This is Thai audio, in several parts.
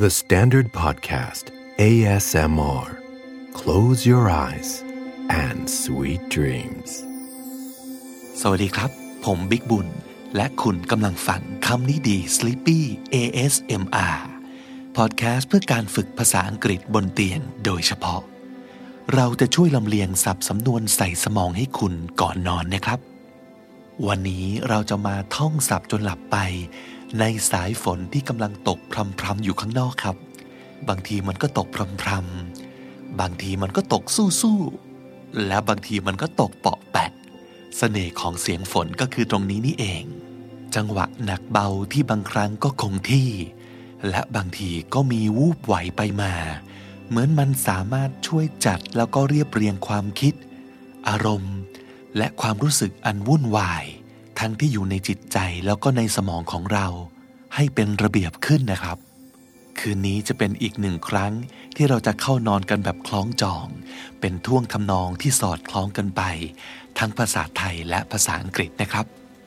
The Standard Podcast ASMR Close your eyes and sweet dreams สวัสดีครับผมบิ๊กบุญและคุณกำลังฟังคำนี้ดี Sleepy ASMR พอดแคสต์เพื่อการฝึกภาษาอังกฤษบนเตียงโดยเฉพาะเราจะช่วยลำเลียงศัพท์สำนวนใส่สมองให้คุณก่อนนอนนะครับวันนี้เราจะมาท่องศัพท์จนหลับไปในสายฝนที่กำลังตกพรำๆอยู่ข้างนอกครับบางทีมันก็ตกพรำๆบางทีมันก็ตกสู้ๆและบางทีมันก็ตกเปาะแปะเสน่ห์ของเสียงฝนก็คือตรงนี้นี่เองจังหวะหนักเบาที่บางครั้งก็คงที่และบางทีก็มีวูบไหวไปมาเหมือนมันสามารถช่วยจัดแล้วก็เรียบเรียงความคิดอารมณ์และความรู้สึกอันวุ่นวายทั้งที่อยู่ในจิตใจแล้วก็ในสมองของเราให้เป็นระเบียบขึ้นนะครับคืนนี้จะเป็นอีกหนึ่งครั้งที่เราจะเข้านอนกันแบบคล้องจองเป็นท่วงทำนองที่สอดคล้องกันไปทั้งภาษาไทยและภาษาอังกฤษนะครับ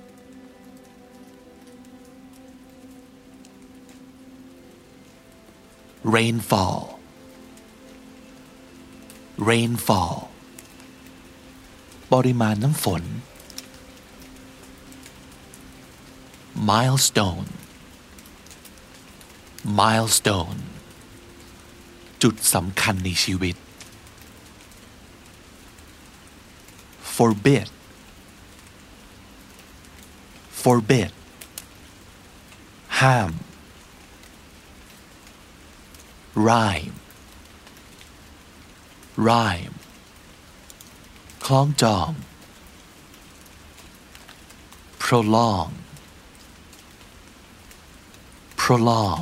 Rainfall Rainfall ปริมาณน้ำฝน Milestone Milestone จุดสำคัญในชีวิต Forbid Forbid ห้าม Rhyme Rhyme คล้องจอง Prolong Prolong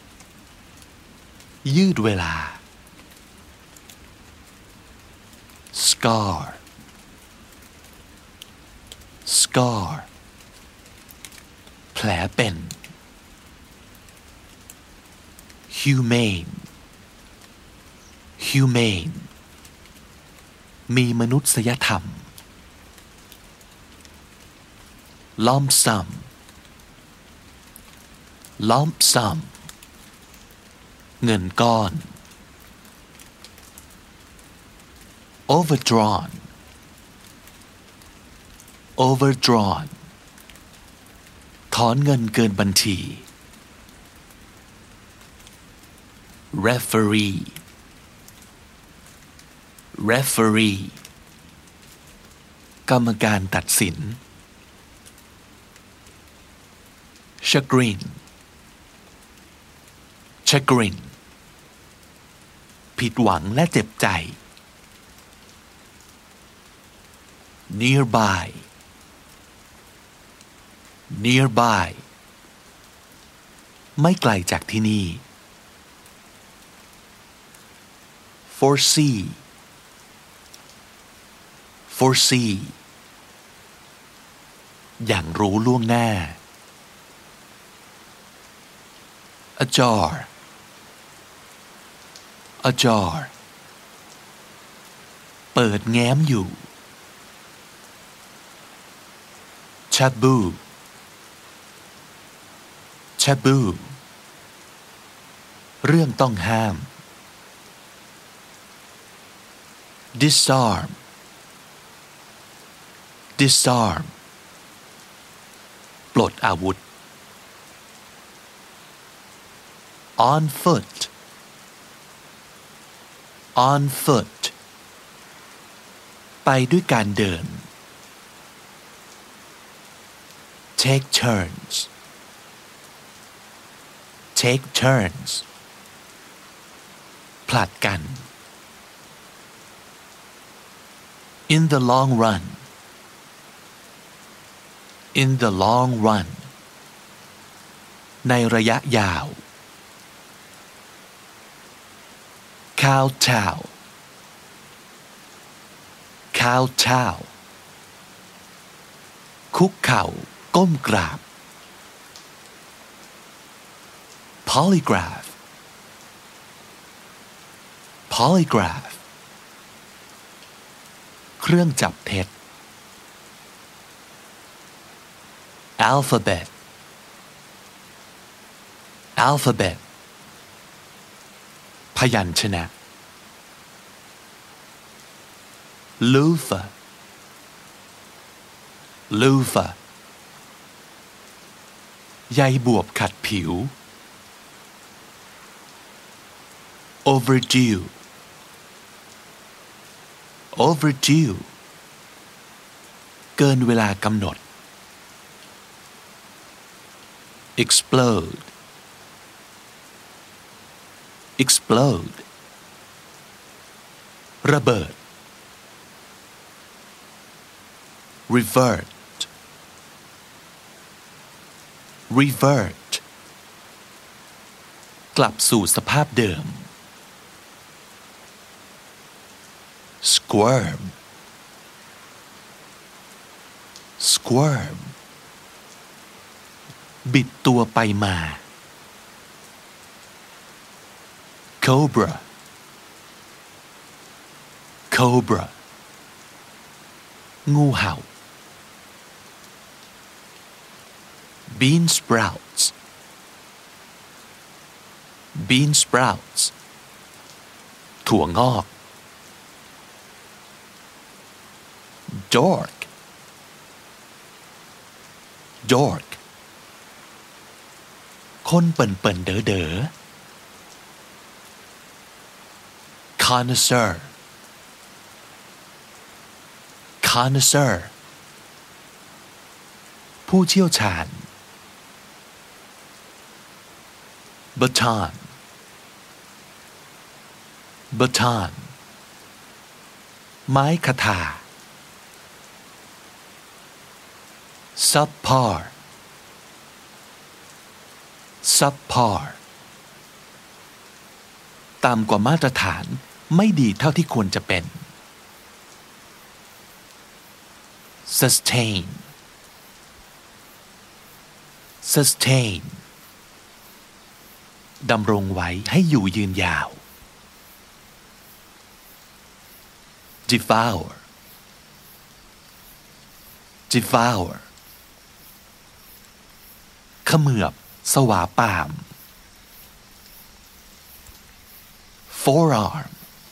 ยืดเวลา Scar Scar แผลเป็น Humane Humane มีมนุษยธรรม Lump sum Lump sum เงินก้อน Overdrawn Overdrawn ถอนเงินเกินบัญชี Referee Referee กรรมการตัดสิน Chagrin Chagrin ผิดหวังและเจ็บใจ Nearby Nearby ไม่ไกลจากที่นี่ Foresee Foresee อย่างรู้ล่วงหน้า Ajar Ajar เปิดแง้มอยู่ Taboo Taboo เรื่องต้องห้าม Disarm Disarm ปลดอาวุธ On foot On foot ไปด้วยการเดิน Take turns Take turns ผลัดกัน In the long run In the long run ในระยะยาว Kowtow Kowtow คุกเข่าก้มกราบ Polygraph Polygraph เครื่องจับเท็จ Alphabet Alphabet พยัญชนะ loofah loofah ใยบวบขัดผิว overdue overdue เกินเวลากำหนด explode explode ระเบิด revert revert กลับสู่สภาพเดิม squirm squirm บิดตัวไปมา cobra cobra งูเห่า bean sprouts bean sprouts ถั่วงอก dork dork คนเปิ่นๆเด๋อๆ connoisseur connoisseur ผู้เชี่ยวชาญ baton baton ไม้คทา subpar subpar ต่ำกว่ามาตรฐานไม่ดีเท่าที่ควรจะเป็น sustain sustain ดำรงไว้ให้อยู่ยืนยาว devour devour เขมือบสวาปาม forearm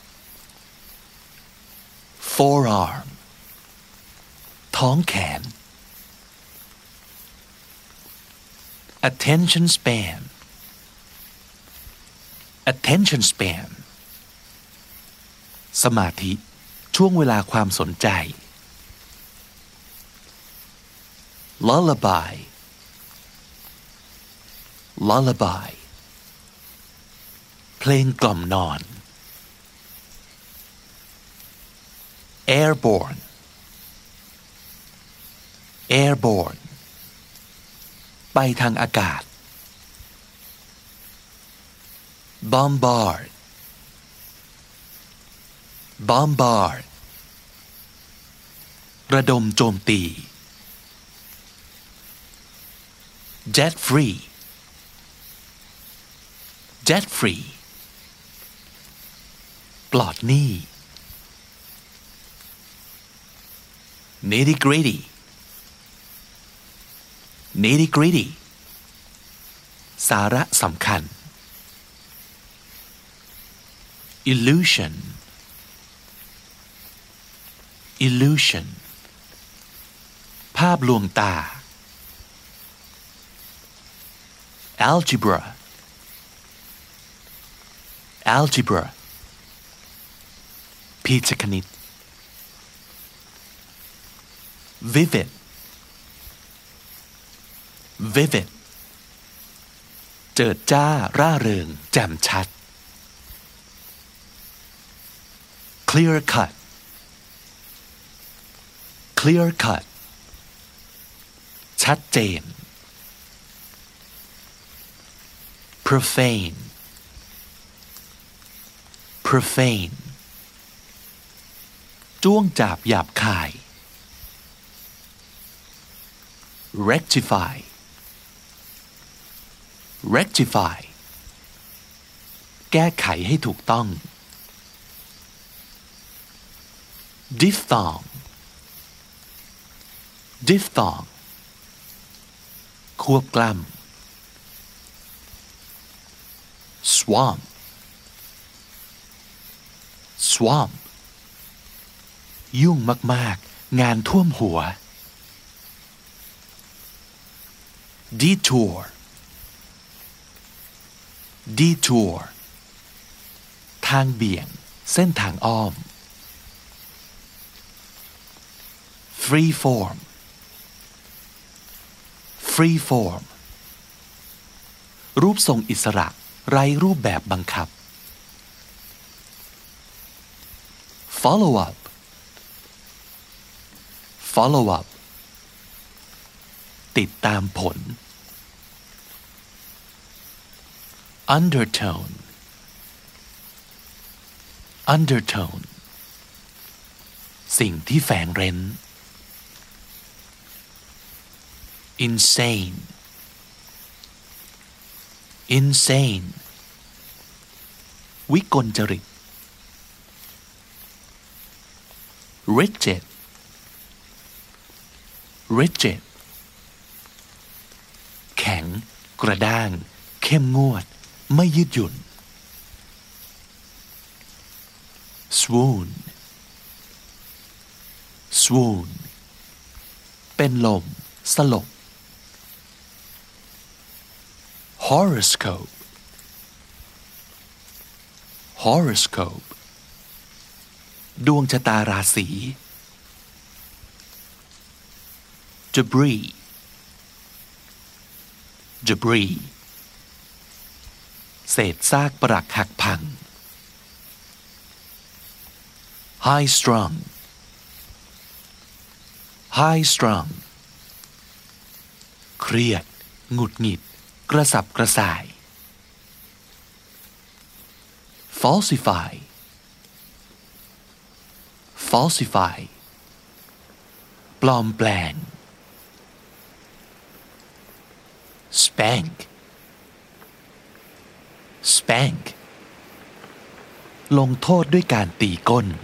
forearm ท้องแขน attention span attention span สมาธิช่วงเวลาความสนใจ lullaby lullaby เพลงกล่อมนอน airborne airborne ไปทางอากาศ bombard bombard ระดมโจมตี jet free jet free ปลอดหนี้ nitty gritty nitty gritty สาระสำคัญ illusion illusion ภาพลวงตา algebra algebra พีจคณิต vivid vivid เจิดจ้าร่าเริงแจ่มชัด clear cut clear cut ชัดเจน profane profane จ้วงจาบหยาบคาย rectify rectify แก้ไขให้ถูกต้อง diphthong diphthong ควบกล้ำ swamp swamp ยุ่งมากๆงานท่วมหัว detour detour ทางเบี่ยงเส้นทางอ้อม free form free form รูปทรงอิสระไร้รูปแบบบังคับ follow up follow up ติดตามผล undertone undertone สิ่งที่แฝงเร้น insane insane วิกลจริต rigid rigid แข็งกระด้างเข้มงวดไม่ยืดหยุ่น swoon swoon เป็นลมสลบ horoscope horoscope ดวงชะตาราศี debris debris เศษซากปรักหักพัง high strung high strung เครียดหงุดหงิดกระสับกระส่าย falsify falsify ปลอมแปลง spank spank ลงโทษด้วยการตีก้น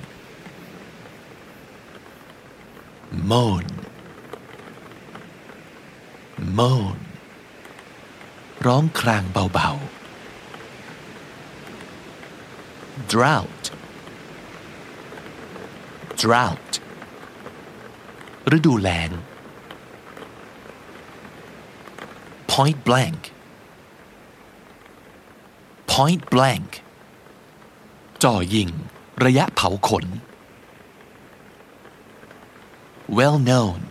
moan moan ร้องครางเบาๆ drought drought ฤดูแล้ง point blank point blank จ่อยิงระยะเผาขน well known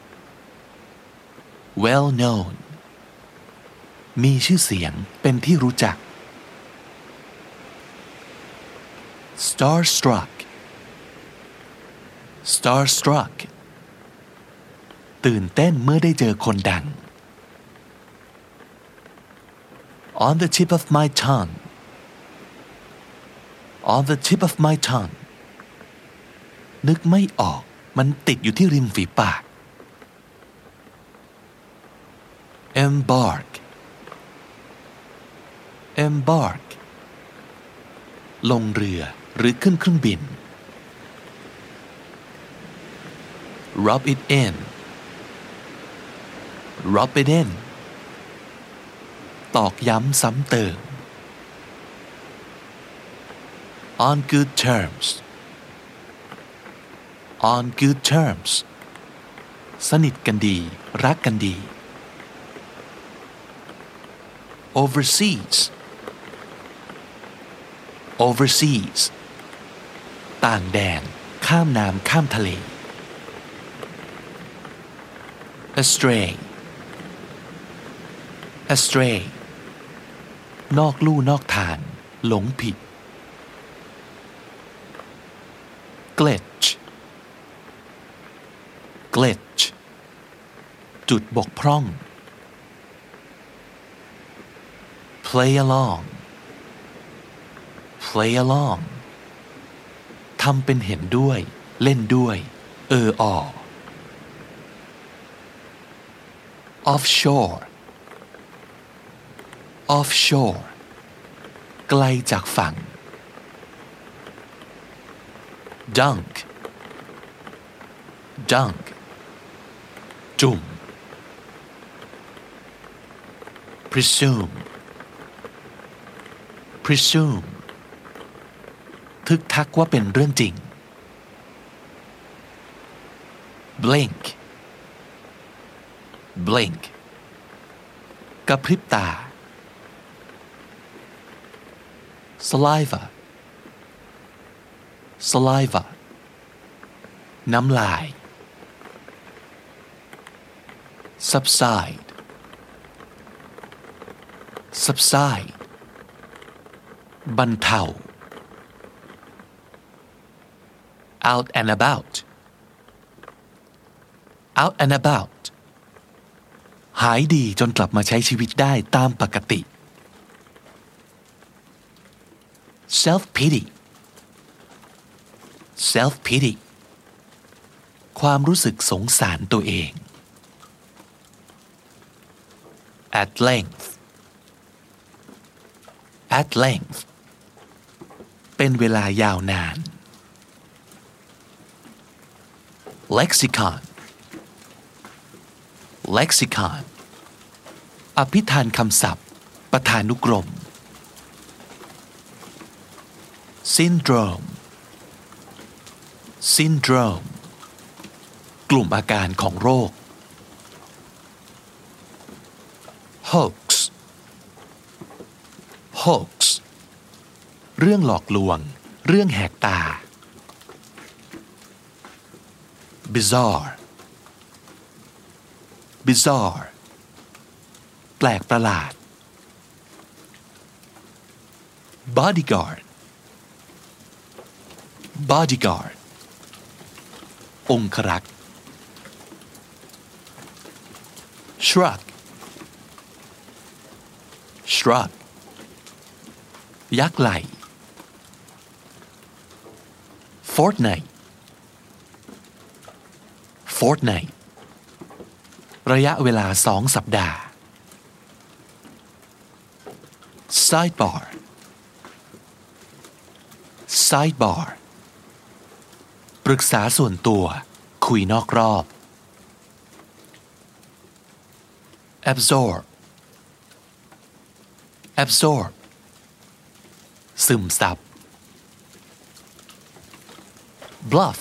well known มีชื่อเสียงเป็นที่รู้จัก starstruck starstruck ตื่นเต้นเมื่อได้เจอคนดัง on the tip of my tongue on the tip of my tongue นึกไม่ออกมันติดอยู่ที่ริมฝีปาก embark embark ลงเรือหรือขึ้นเครื่องบิน rub it in rub it in ตอกย้ำซ้ำเติม on good terms on good terms สนิทกันดีรักกันดี overseas overseas ต่างแดนข้ามน้ำข้ามทะเล astray astray นอกลู่นอกทางหลงผิด glitch glitch จุดบกพร่อง play along play along ทำเป็นเห็นด้วยเล่นด้วยoffshore offshore ไกลจากฝั่ง dunk dunk จุ่ม presume presume ทึกทักว่าเป็นเรื่องจริง blink blink กระพริบตา saliva saliva น้ำลาย subside subside บรรเทา out and about out and about หายดีจนกลับมาใช้ชีวิตได้ตามปกติ self pity self pity ความรู้สึกสงสารตัวเอง at length at length เป็นเวลายาวนาน lexicon lexicon อภิธานคำศัพท์ประธานุกรม syndrome syndrome กลุ่มอาการของโรค hoax hoax เรื่องหลอกลวงเรื่องแหกตา bizarre bizarre แปลกประหลาด bodyguard bodyguard องครักษ์ shrug shrug ยักไหล่ fortnight fortnight ระยะเวลา2 สัปดาห์ sidebar sidebar ปรึกษาส่วนตัวคุยนอกรอบ absorb absorb ซึมซับ bluff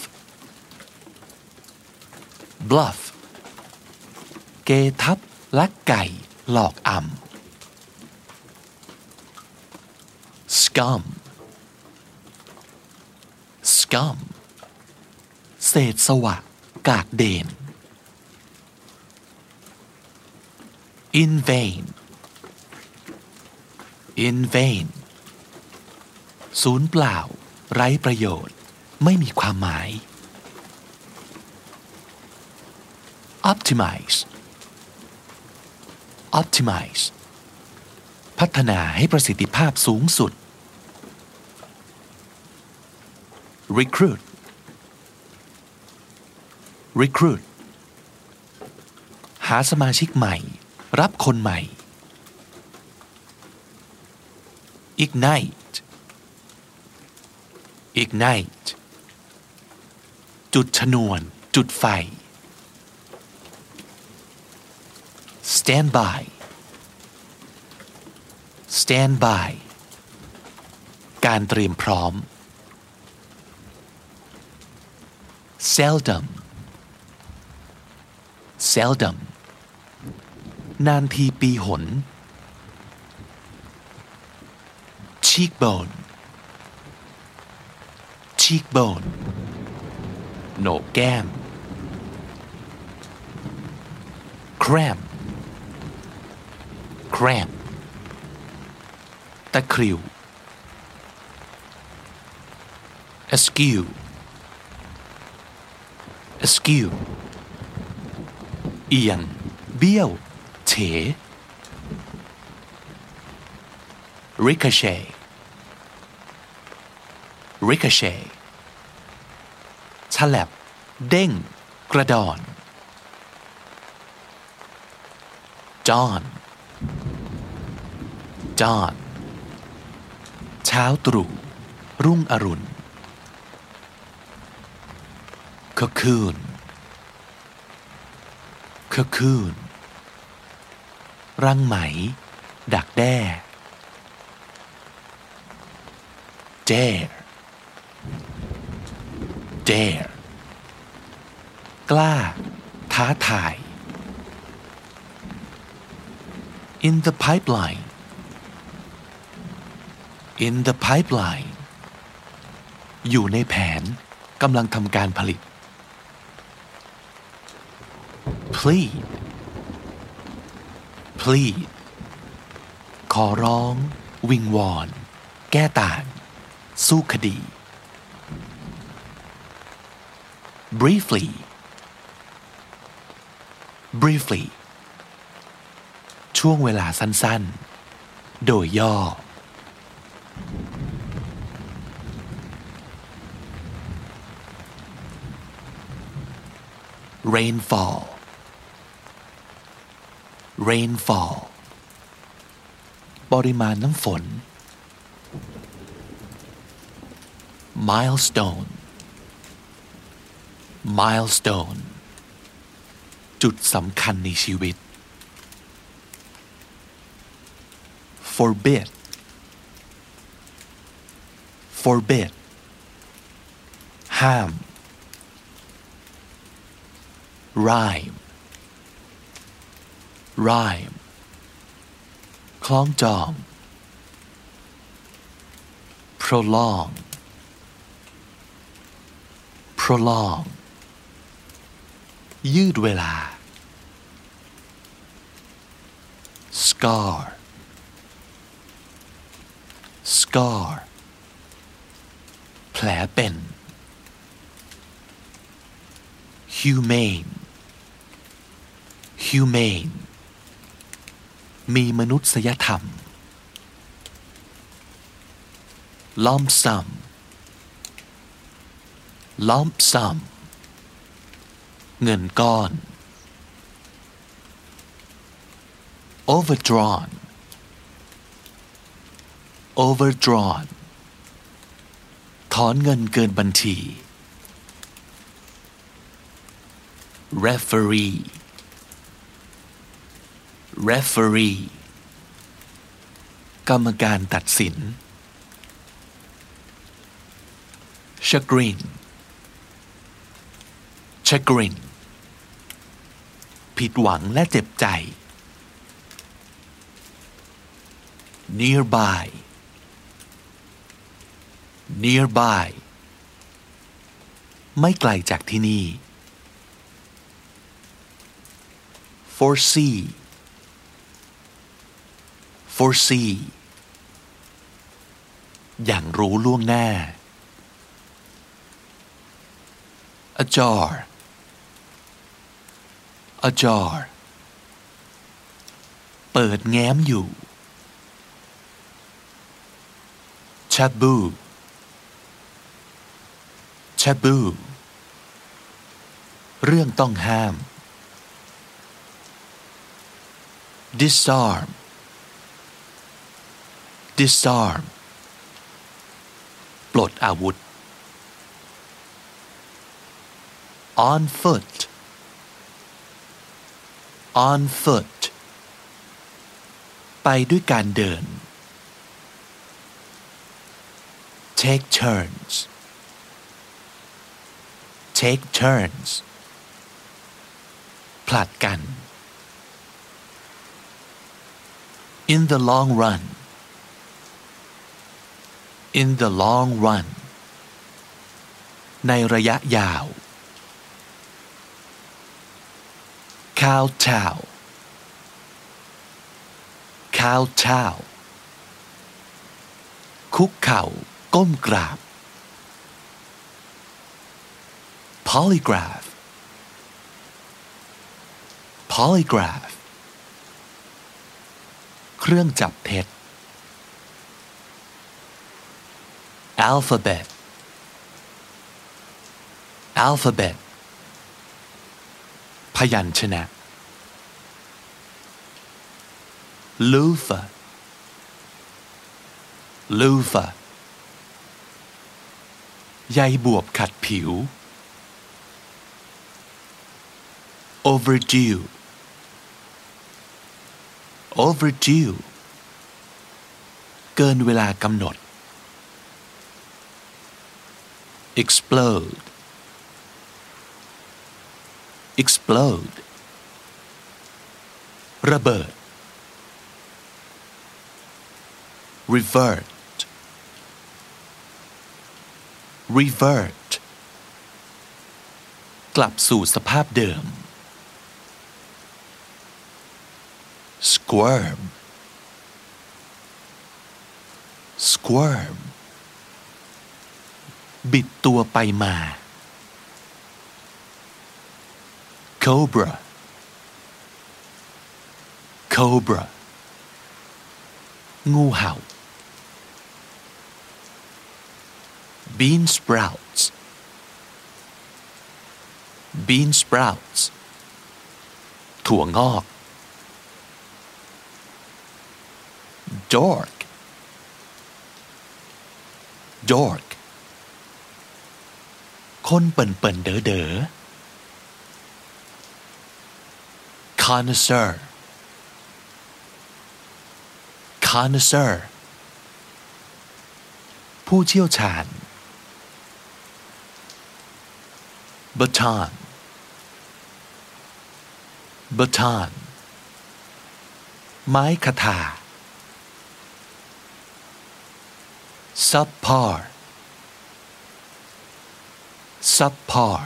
bluff เกทับลักไก่หลอกอำ scum scum เศษสวะกากเดน in vain in vain ศูนย์เปล่าไร้ประโยชน์ไม่มีความหมาย optimize optimize พัฒนาให้ประสิทธิภาพสูงสุด recruit recruit หาสมาชิกใหม่รับคนใหม่ ignite ignite จุดชนวนจุดไฟ stand by stand by การเตรียมพร้อม seldom seldom นานทีปีหน cheekbone cheekbone โหนกแก้ม cramp cramp ตะคริว askew askew เอียงเบี้ยวเฉ ricochet ricochet ฉลับเด้งกระดอน dawn dawn เช้าตรู่รุ่งอรุณ cocoon cocoon รังไหมดักแด้ dare dare กล้าท้าทาย in the pipeline in the pipeline อยู่ในแผนกำลังทำการผลิต plead plead ขอร้องวิงวอนแก้ต่างสู้คดี briefly briefly ช่วงเวลาสั้นๆโดยย่อ rainfall rainfall ปริมาณน้ำฝน milestone milestone จุดสำคัญในชีวิต forbid forbid ห้าม rhyme rhyme คล้องจอง prolong prolong ยืดเวลา scar scar แผลเป็น humane humane มีมนุษยธรรม lump sum lump sum เงินก้อน overdrawn overdrawn ถอนเงินเกินบัญชี referee referee กรรมการตัดสิน chagrin chagrin ผิดหวังและเจ็บใจ nearby nearby ไม่ไกลจากที่นี่ foresee foresee อย่างรู้ล่วงหน้า ajar ajar เปิดแง้มอยู่ taboo taboo เรื่องต้องห้าม disarm disarm ปลดอาวุธ on foot on foot ไปด้วยการเดิน take turns take turns ผลัดกัน in the long run in the long run ในระยะยาว kowtow kowtow คุกเข่าก้มกราบ polygraph polygraph เครื่องจับเท็จ alphabet alphabet พยัญชนะ loofah loofah ใยบวบขัดผิว overdue overdue เกินเวลากำหนด explode explode ระเบิด revert revert กลับสู่สภาพเดิม squirm squirm บิดตัวไปมา cobra cobra งูเห่า bean sprouts bean sprouts ถั่วงอก dork dork คนเปิ่นๆเด๋อๆ connoisseur connoisseur ผู้เชี่ยวชาญ baton baton ไม้คทา subpar subpar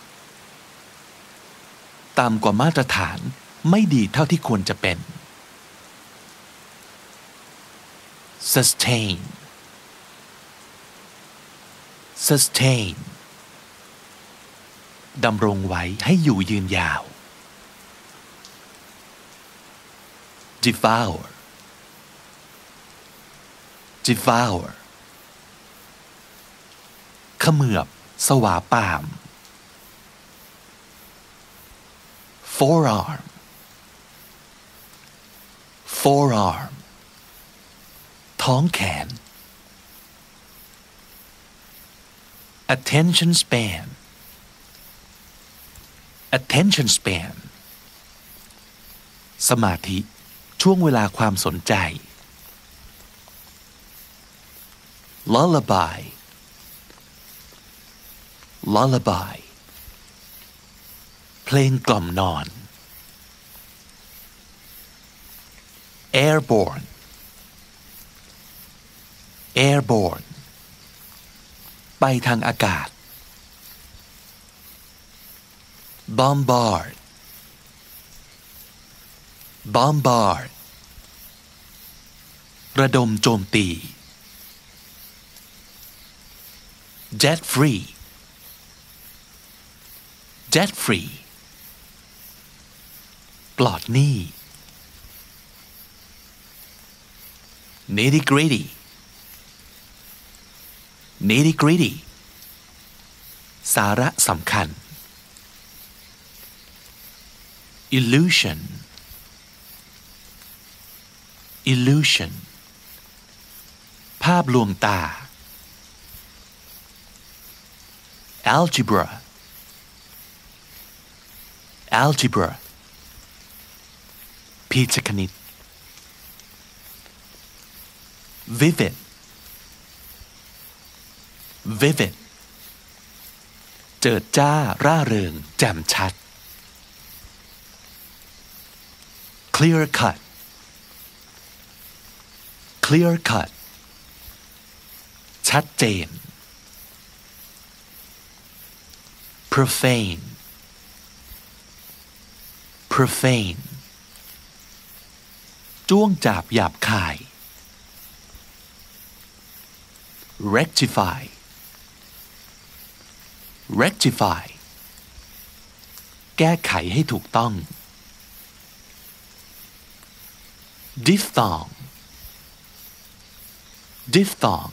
ต่ำกว่ามาตรฐานไม่ดีเท่าที่ควรจะเป็น sustain sustain ดำรงไว้ให้อยู่ยืนยาว devour devour เขมือบสวาปาม forearm forearm ท้องแขน attention span attention span สมาธิช่วงเวลาความสนใจ lullaby lullaby เพลงกล่อมนอน airborne airborne ไปทางอากาศ bombard bombard ระดมโจมตี debt free debt free ปลอดหนี้ nitty gritty nitty gritty สาระสำคัญ illusion illusion ภาพลวงตา algebra algebra พีจคณิต vivid vivid เจิดจ้าร่าเริงแจ่มชัด clear cut clear cut ชัดเจน profane profane จ้วงจาบหยาบคาย rectify rectify แก้ไขให้ถูกต้อง diphthong diphthong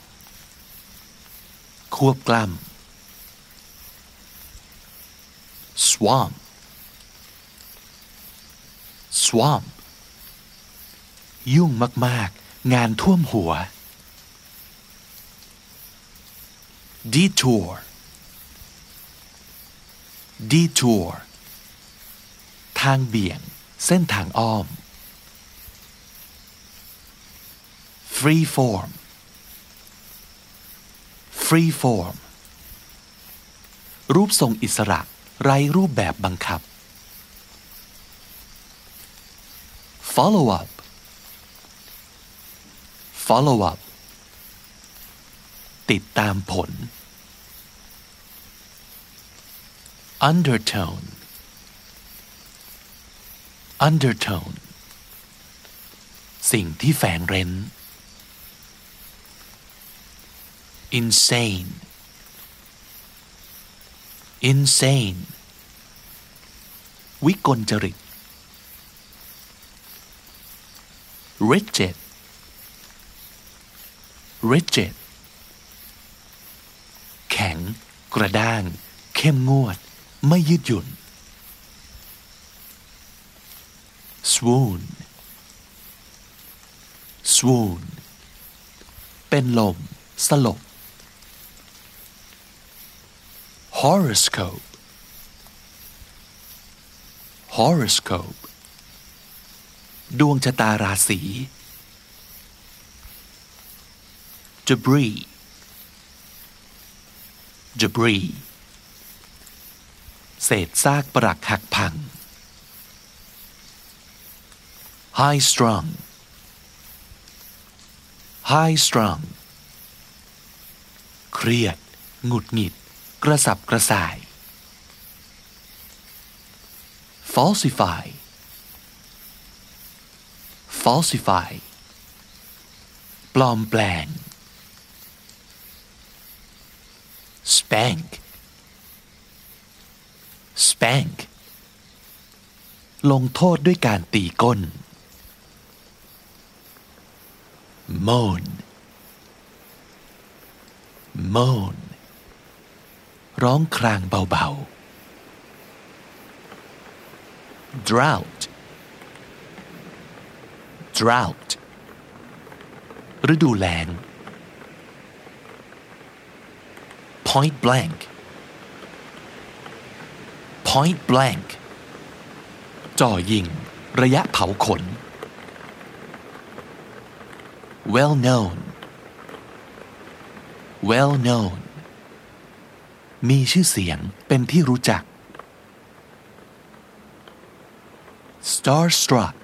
ควบกล้ำ swamp swamp ยุ่งมากๆงานท่วมหัว detour detour ทางเบี่ยงเส้นทางอ้อม free form free form รูปทรงอิสระไร้รูปแบบบังคับ follow up follow up ติดตามผล undertone undertone สิ่งที่แฝงเร้น insane insane วิกลจริต rigid rigid แข็งกระด้างเข้มงวดไม่ยืดหยุ่น swoon swoon เป็นลมสลบ horoscope horoscope ดวงชะตาราศี debris debris เศษซากปรักหักพัง high strung high strung เครียดหงุดหงิดกระสับกระส่าย falsify falsify ปลอมแปลง spank spank ลงโทษด้วยการตีก้น moan moan ร้องครางเบาๆ drought drought ฤดูแล้ง point blank point blank จ่อยิงระยะเผาขน well known well known มีชื่อเสียงเป็นที่รู้จัก starstruck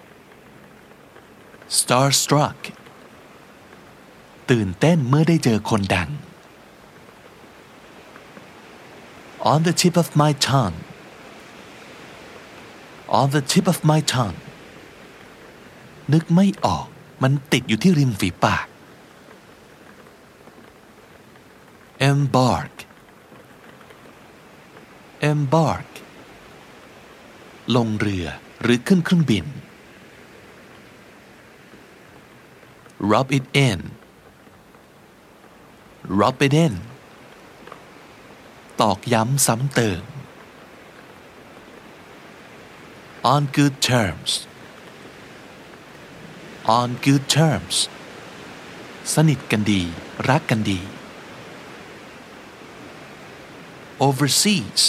starstruck ตื่นเต้นเมื่อได้เจอคนดัง on the tip of my tongue on the tip of my tongue นึกไม่ออกมันติดอยู่ที่ริมฝีปาก embark embark ลงเรือหรือขึ้นเครื่องบิน rub it in rub it in ตอกย้ำซ้ำเติม on good terms on good terms สนิทกันดีรักกันดี overseas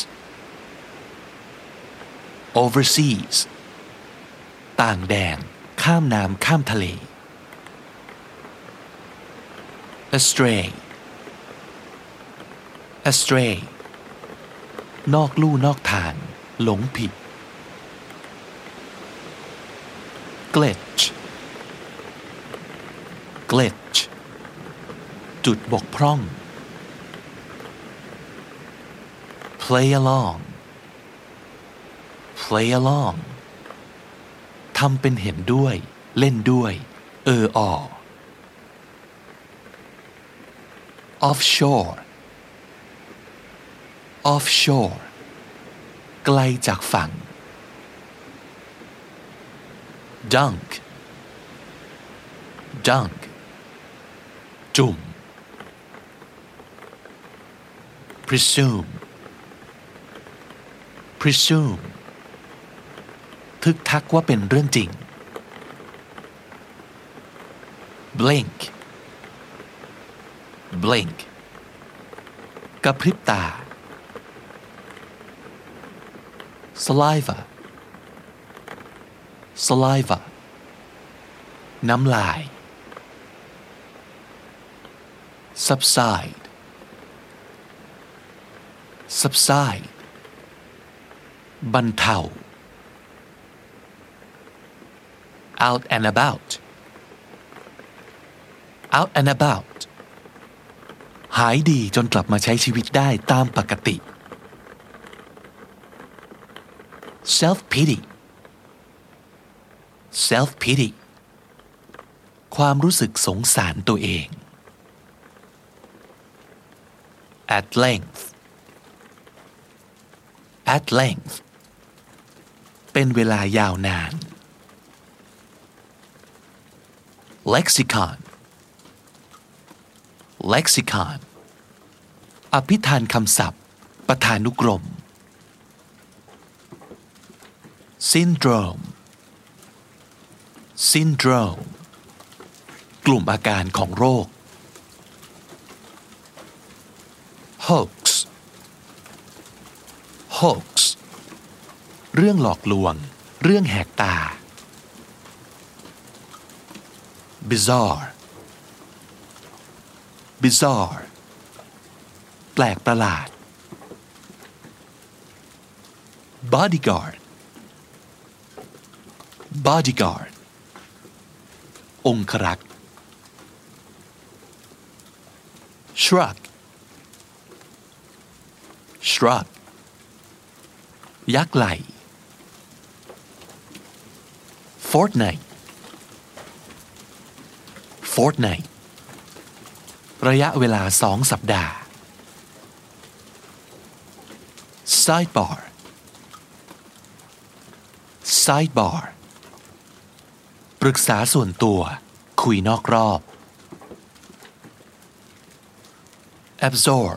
overseas ต่างแดนข้ามน้ำข้ามทะเล astray astray นอกลู่นอกทางหลงผิด glitch glitch จุดบกพร่อง play along play along ทำเป็นเห็นด้วยเล่นด้วยoffshore offshore ไกลจากฝั่ง dunk dunk จุ่ม presume presume ทึกทักว่าเป็นเรื่องจริง blink blink กระพริบตา saliva saliva น้ำลาย subside subside บรรเทา out and about out and about หายดีจนกลับมาใช้ชีวิตได้ตามปกติ self pity self pity ความรู้สึกสงสารตัวเอง at length at length เป็นเวลายาวนาน lexicon lexicon อภิธานคำศัพท์ประธานุกรม syndrome syndrome กลุ่มอาการของโรค hoax hoax เรื่องหลอกลวงเรื่องแหกตา bizarre bizarre แปลกประหลาด bodyguard bodyguard องครักษ์ shrug shrug ยักไหล่ fortnight fortnight ระยะเวลา2 สัปดาห์ sidebar sidebar ปรึกษาส่วนตัวคุยนอกรอบ absorb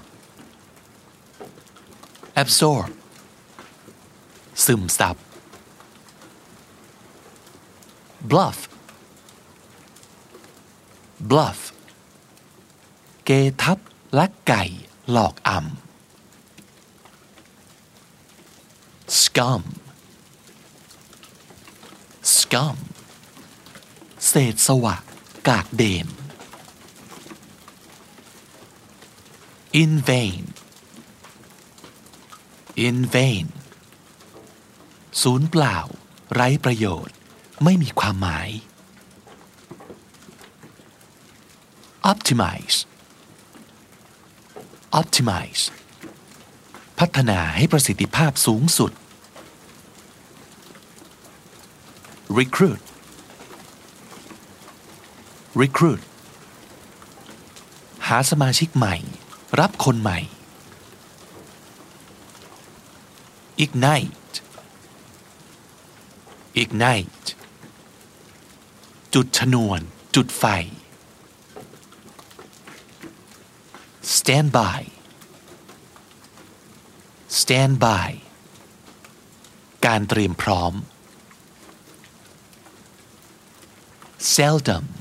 absorb ซึมซับ bluff bluff เกทับลักไก่หลอกอำ scum scum เศษสวะกากเดน in vain in vain ศูนย์เปล่าไร้ประโยชน์ไม่มีความหมาย optimize optimize พัฒนาให้ประสิทธิภาพสูงสุด recruit recruit หาสมาชิกใหม่รับคนใหม่ ignite ignite จุดชนวนจุดไฟ stand by stand by การเตรียมพร้อม seldom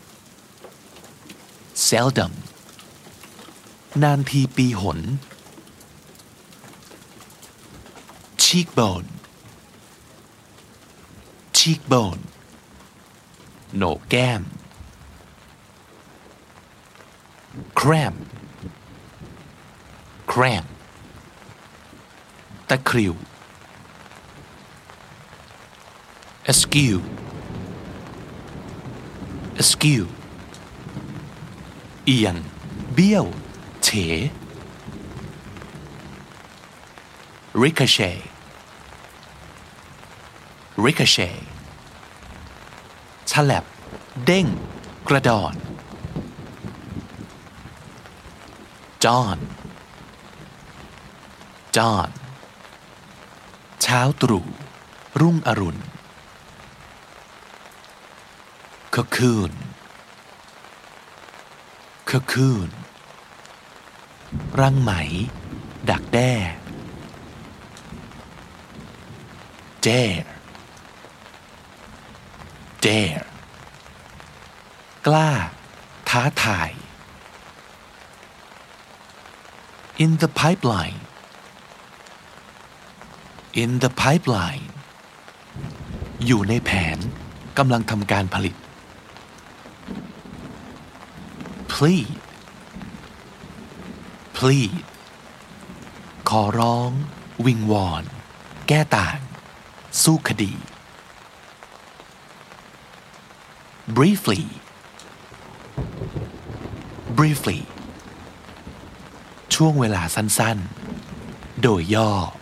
seldom นานทีปีหน cheekbone cheekbone โหนกแก้ม cramp cramp ตะคริว askew askew เอียงเบี้ยวเฉ ricochet ricochet ฉลับเด้งกระดอน dawn dawn เช้าตรู่รุ่งอรุณ cocoon cocoon รังไหมดักแด้ dare dare กล้าท้าทาย in the pipeline in the pipeline อยู่ในแผนกำลังทำการผลิต plead plead ขอร้องวิงวอนแก้ต่างสู้คดี briefly briefly ช่วงเวลาสั้นๆโดยย่อ